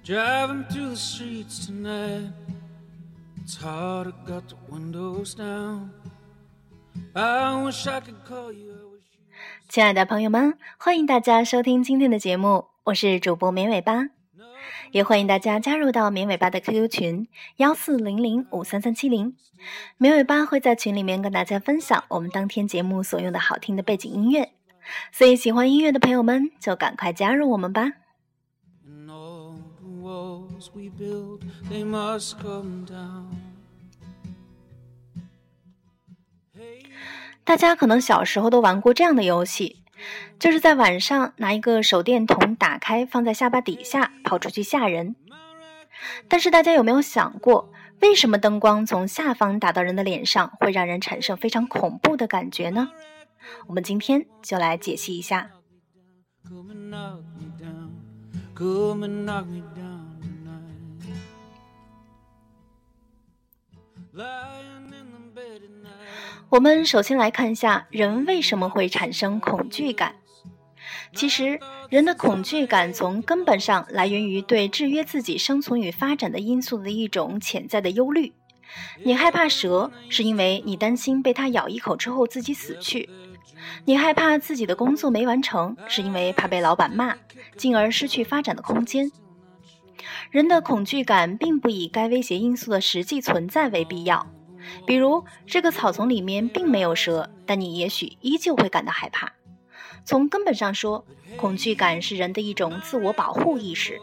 Driving through the streets tonight, it's hard, I got the windows down. I wish I could call you. 亲爱的朋友们，欢迎大家收听今天的节目，我是主播绵尾巴，也欢迎大家加入到绵尾巴的 QQ 群1400533370，绵尾巴会在群里面跟大家分享我们当天节目所用的好听的背景音乐，所以喜欢音乐的朋友们就赶快加入我们吧。大家可能小时候都玩过这样的游戏，就是在晚上拿一个手电筒打开放在下巴底下跑出去吓人。但是大家有没有想过，为什么灯光从下方打到人的脸上会让人产生非常恐怖的感觉呢？我们今天就来解析一下。我们首先来看一下人为什么会产生恐惧感。其实人的恐惧感从根本上来源于对制约自己生存与发展的因素的一种潜在的忧虑。你害怕蛇，是因为你担心被它咬一口之后自己死去；你害怕自己的工作没完成，是因为怕被老板骂，进而失去发展的空间。人的恐惧感并不以该威胁因素的实际存在为必要，比如这个草丛里面并没有蛇，但你也许依旧会感到害怕。从根本上说，恐惧感是人的一种自我保护意识。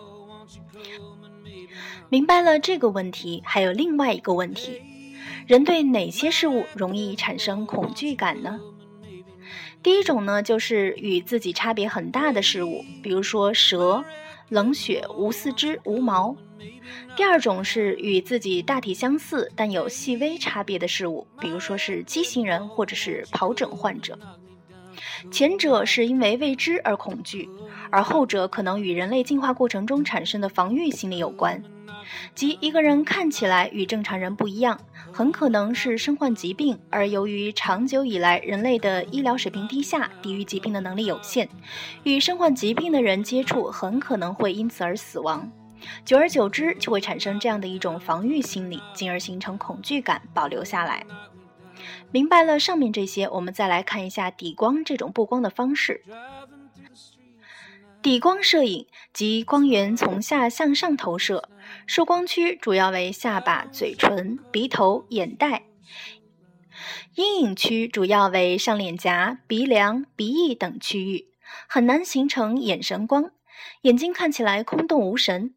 明白了这个问题，还有另外一个问题，人对哪些事物容易产生恐惧感呢？第一种呢，就是与自己差别很大的事物，比如说蛇、冷血、无四肢、无毛。第二种是与自己大体相似但有细微差别的事物，比如说是畸形人或者是疱疹患者。前者是因为未知而恐惧，而后者可能与人类进化过程中产生的防御心理有关，即一个人看起来与正常人不一样，很可能是身患疾病，而由于长久以来人类的医疗水平低下，抵御疾病的能力有限，与身患疾病的人接触很可能会因此而死亡。久而久之就会产生这样的一种防御心理，进而形成恐惧感保留下来。明白了上面这些，我们再来看一下底光这种布光的方式。底光摄影即光源从下向上投射，受光区主要为下巴、嘴唇、鼻头、眼袋；阴影区主要为上脸颊、鼻梁、鼻翼等区域，很难形成眼神光，眼睛看起来空洞无神。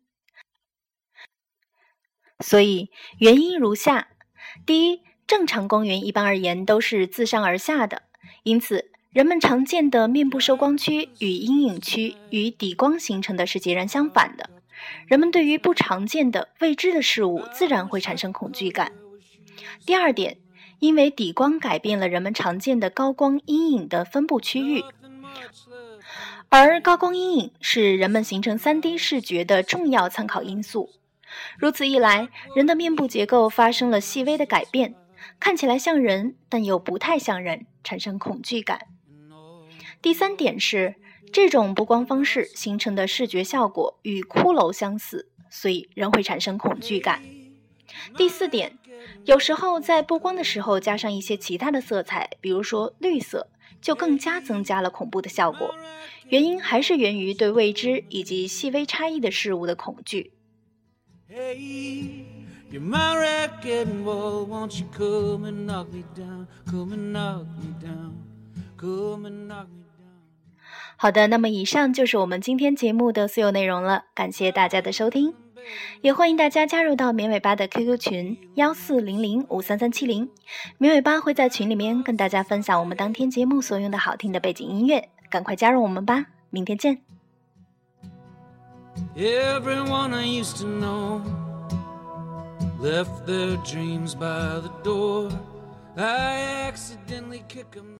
所以原因如下：第一，正常光源一般而言都是自上而下的，因此人们常见的面部受光区与阴影区与底光形成的是截然相反的。人们对于不常见的未知的事物自然会产生恐惧感。第二点，因为底光改变了人们常见的高光阴影的分布区域，而高光阴影是人们形成 3D 视觉的重要参考因素。如此一来，人的面部结构发生了细微的改变，看起来像人，但又不太像人，产生恐惧感。第三点是，这种布光方式形成的视觉效果与骷髅相似，所以人会产生恐惧感。第四点，有时候在布光的时候加上一些其他的色彩，比如说绿色，就更加增加了恐怖的效果。原因还是源于对未知以及细微差异的事物的恐惧。 Hey, you're my wrecking ball, won't you come and knock me down, come and knock me down, come and knock me down. 好的，那么以上就是我们今天节目的所有内容了，感谢大家的收听，也欢迎大家加入到绵尾巴的 QQ 群1400533370，绵尾巴会在群里面跟大家分享我们当天节目所用的好听的背景音乐，赶快加入我们吧，明天见。 Everyone I used to know left their dreams by the door. I accidentally kick them